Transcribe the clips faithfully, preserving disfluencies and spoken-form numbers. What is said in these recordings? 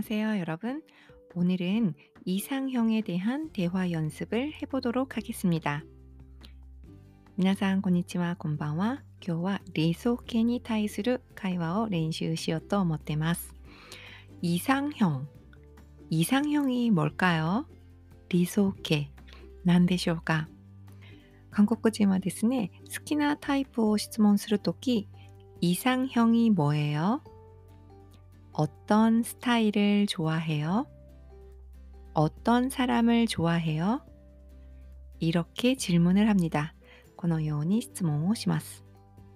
안녕하세요, 여러분. 오늘은 이상형에 대한 대화 연습을 해보도록 하겠습니다. 皆さん、こんにちは、こんばんは。今日は理想形に対する会話を練習しようと思ってます。이상형。이상형이 뭘까요? 理想形。何でしょうか？韓国人はですね、好きなタイプを質問するとき、이상형이 뭐예요? 어떤 스타일을 좋아해요? 어떤 사람을 좋아해요? 이렇게 질문을 합니다. このように質問をします。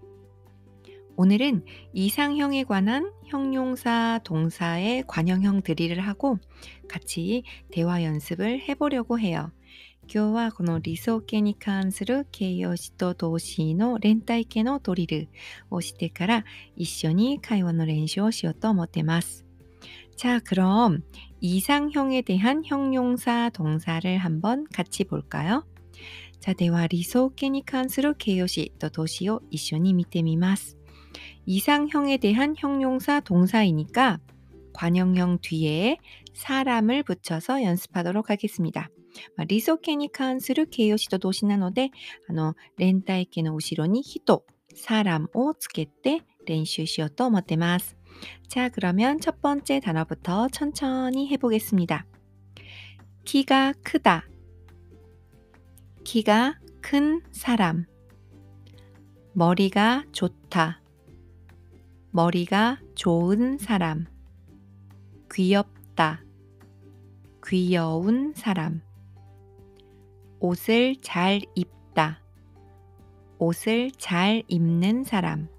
오늘은 이상형에 관한 형용사, 동사의 관형형 드릴을 하고 같이 대화 연습을 해보려고 해요. 今日はこの理想形に関する形容詞と動詞の連帯形のドリルをしてから一緒に会話の練習をしようと思ってます。 자, 그럼 이상형에 대한 형용사, 동사를 한번 같이 볼까요? 자, 대화理想形に関する形容詞と動詞を一緒に見てみます。 이상형에 대한 형용사, 동사이니까 관형형 뒤에 사람을 붙여서 연습하도록 하겠습니다. 理想形に関する形容詞と動詞なので、あの連帯形の後ろに人、사람をつけて練習しようと思ってます。 자, 그러면 첫 번째 단어부터 천천히 해보겠습니다. 키가 크다. 키가 큰 사람. 머리가 좋다. 머리가 좋은 사람. 귀엽다. 귀여운 사람. 옷을 잘 입다. 옷을 잘 입는 사람.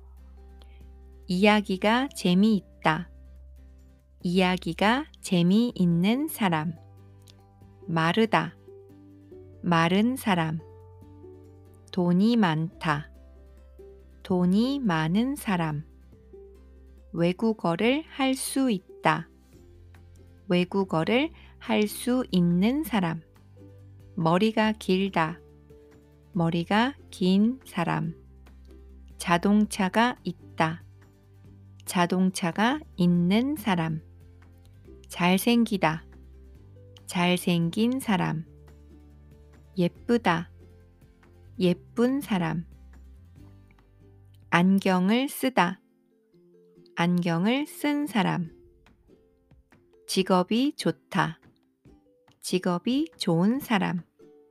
이야기가 재미있다. 이야기가 재미있는 사람. 마르다. 마른 사람. 돈이 많다. 돈이 많은 사람. 외국어를 할 수 있다. 외국어를 할 수 있는 사람. 머리가 길다. 머리가 긴 사람. 자동차가 있다. 자동차가 있는 사람. 잘생기다. 잘생긴 사람. 예쁘다. 예쁜 사람. 안경을 쓰다. 안경을 쓴 사람. 직업이 좋다. 직업이 좋은 사람.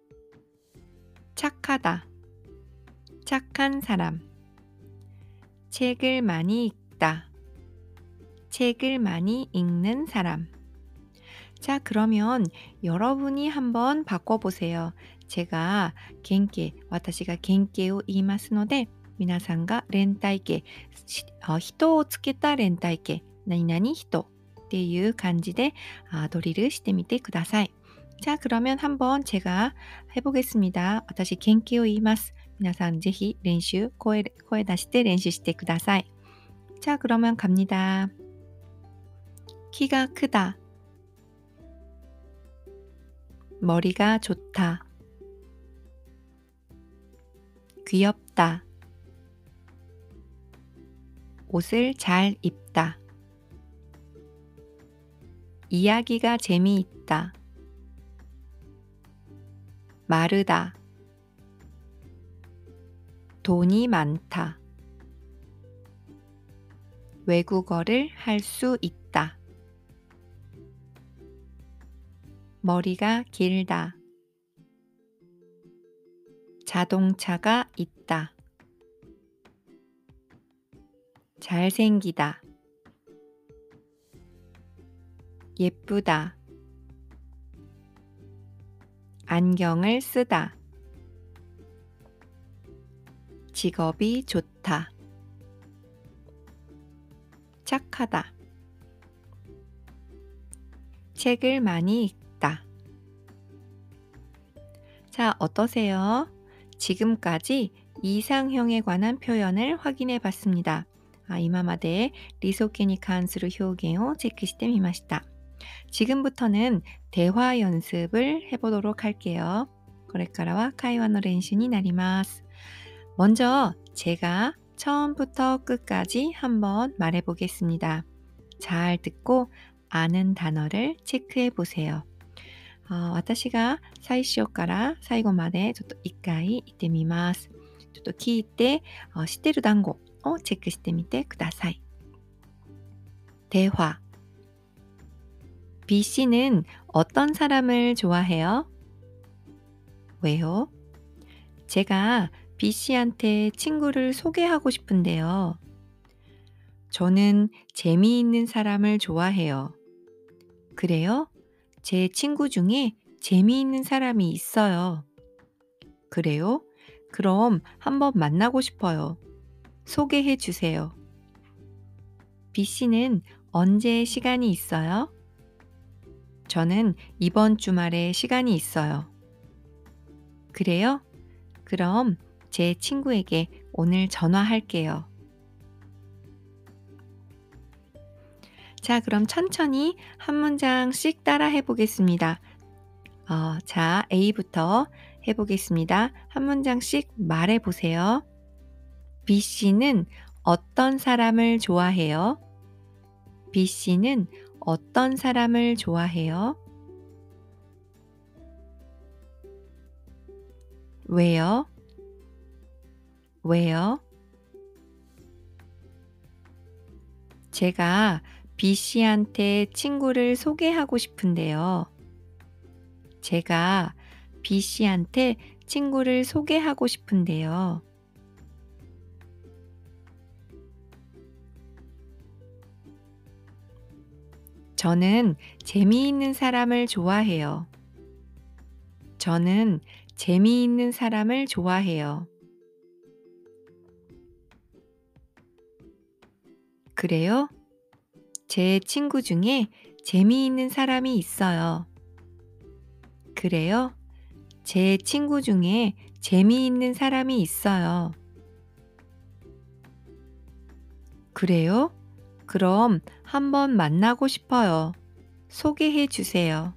착하다. 착한 사람. 책을 많이 읽다. 책을 많이 읽는 사람. 자, 그러면 여러분이 한번 바꿔보세요. 제가 겐케, 私が겐케を言いますので、皆さんが連帯形、人をつけた連帯形、何々人っていう感じでドリルしてみてください。 자, 그러면 한번 제가 해보겠습니다. 私겐케を言います。皆さんぜひ練習、声、声出して練習してください。 자, 그러면 갑니다. 키가 크다. 머리가 좋다. 귀엽다. 옷을 잘 입다. 이야기가 재미있다. 마르다. 돈이 많다. 외국어를 할 수 있다. 머리가 길다. 자동차가 있다. 잘생기다. 예쁘다. 안경을 쓰다. 직업이 좋다. 착하다. 책을 많이 읽다. 자, 어떠세요? 지금까지 이상형에 관한 표현을 확인해 봤습니다. 今まで理想形に関する表現をチェックしてみました。 지금부터는 대화 연습을 해보도록 할게요. これからは会話の練習になります。 먼저 제가 처음부터 끝까지 한번 말해보겠습니다. 잘 듣고 아는 단어를 체크해 보세요. あ、私が最初から最後までちょっと一回言ってみます。ちょっと聞いて、あ、知ってる単語をチェックしてみてください。대화 B씨는 어떤 사람을 좋아해요? 왜요? 제가 B씨한테 친구를 소개하고 싶은데요. 저는 재미있는 사람을 좋아해요. 그래요? 제 친구 중에 재미있는 사람이 있어요. 그래요? 그럼 한번 만나고 싶어요. 소개해 주세요. B씨는 언제 시간이 있어요? 저는 이번 주말에 시간이 있어요. 그래요? 그럼 제 친구에게 오늘 전화할게요. 자, 그럼 천천히 한 문장씩 따라 해보겠습니다. 어, 자, A부터 해보겠습니다. 한 문장씩 말해보세요. B씨는 어떤 사람을 좋아해요? B씨는 어떤 사람을 좋아해요? 왜요? 왜요? 제가 B씨한테 친구를 소개하고 싶은데요. 제가 B씨한테 친구를 소개하고 싶은데요. 저는 재미있는 사람을 좋아해요. 저는 재미있는 사람을 좋아해요. 그래요? 제 친구 중에 재미있는 사람이 있어요. 그래요? 제 친구 중에 재미있는 사람이 있어요. 그래요? 그럼 한번 만나고 싶어요. 소개해 주세요.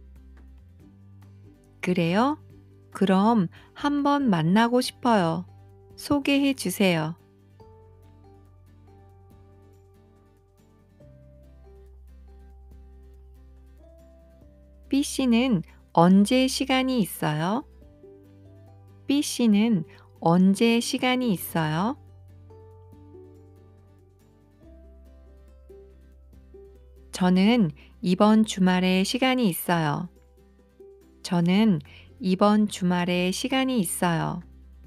그래요? 그럼 한번 만나고 싶어요. 소개해 주세요. B씨는 언제 시간이 있어요? B씨는 언제 시간이 있어요? 저는 이번 주말에 시간이 있어요. 저는 이번 주말에 시간이 있어요.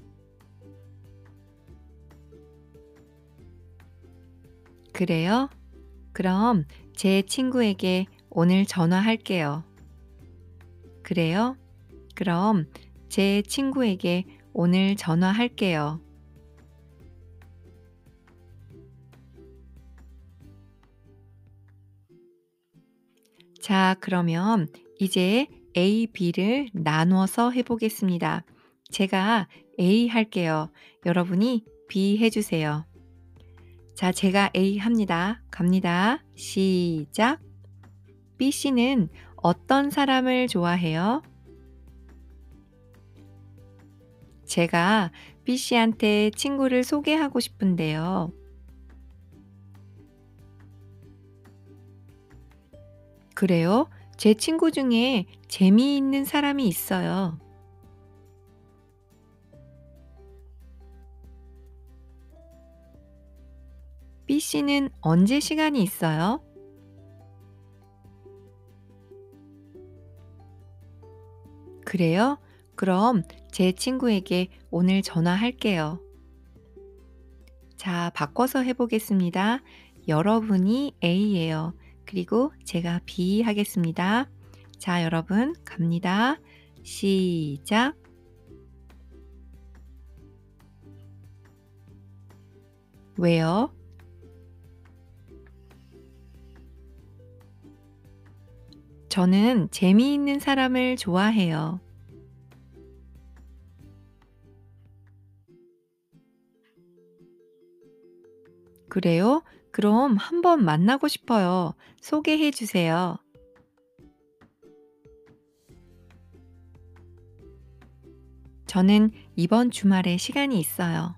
그래요? 그럼 제 친구에게 오늘 전화할게요. 그래요? 그럼 제 친구에게 오늘 전화할게요. 자, 그러면 이제 A, B를 나누어서 해보겠습니다. 제가 A 할게요. 여러분이 B 해주세요. 자, 제가 A 합니다. 갑니다. 시작. B씨는 어떤 사람을 좋아해요? 제가 B씨한테 친구를 소개하고 싶은데요. 그래요? 제 친구 중에 재미있는 사람이 있어요. B씨는 언제 시간이 있어요? 그래요? 그럼 제 친구에게 오늘 전화할게요. 자, 바꿔서 해보겠습니다. 여러분이 A예요. 그리고 제가 B 하겠습니다. 자, 여러분 갑니다. 시작. 왜요? 저는 재미있는 사람을 좋아해요. 그래요? 그럼 한번 만나고 싶어요. 소개해 주세요. 저는 이번 주말에 시간이 있어요.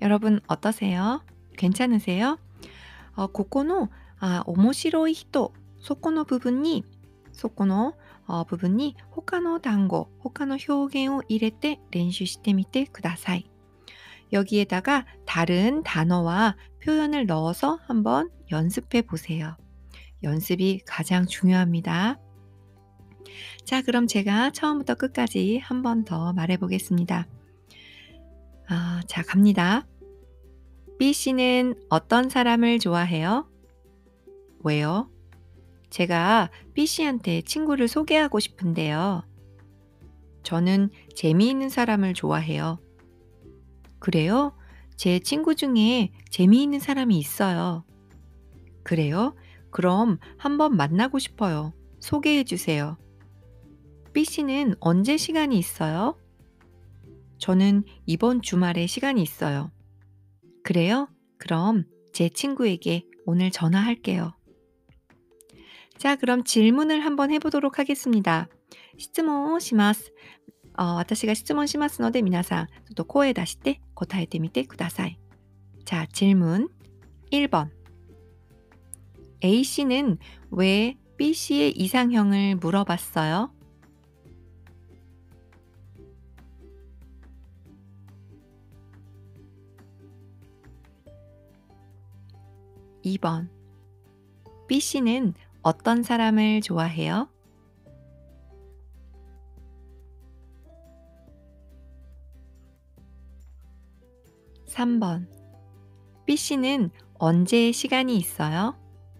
여러분 어떠세요? 괜찮으세요? 어, ここの、あ、面白い人、そこの部分に、そこの어部分に他の単語、他の表現を入れて練習してみてください. 여기에다가 다른 단어와 표현을 넣어서 한번 연습해 보세요. 연습이 가장 중요합니다. 자, 그럼 제가 처음부터 끝까지 한 번 더 말해 보겠습니다. 아, 자, 갑니다. B씨는 어떤 사람을 좋아해요? 왜요? 제가 B씨한테 친구를 소개하고 싶은데요. 저는 재미있는 사람을 좋아해요. 그래요? 제 친구 중에 재미있는 사람이 있어요. 그래요? 그럼 한번 만나고 싶어요. 소개해 주세요. B씨는 언제 시간이 있어요? 저는 이번 주말에 시간이 있어요. 그래요? 그럼 제 친구에게 오늘 전화할게요. 자, 그럼 질문을 한번 해보도록 하겠습니다. 質問をします。어, 私が質問しますので皆さんちょっと声出して答えてみてください. 자, 질문 일 번. A씨는 왜 B씨의 이상형을 물어봤어요? 이 번. B씨는 어떤 사람을 좋아해요? 삼 번. B씨는 언제 시간이 있어요?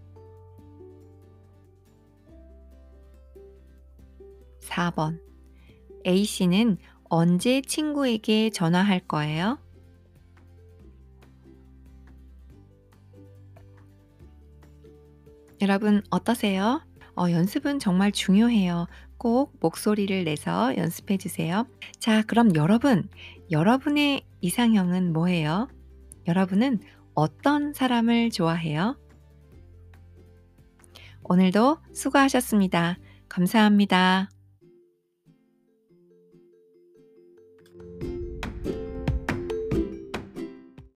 사 번. A씨는 언제 친구에게 전화할 거예요? 여러분 어떠세요? 어, 연습은 정말 중요해요. 꼭 목소리를 내서 연습해 주세요. 자, 그럼 여러분, 여러분의 이상형은 뭐예요? 여러분은 어떤 사람을 좋아해요? 오늘도 수고하셨습니다. 감사합니다.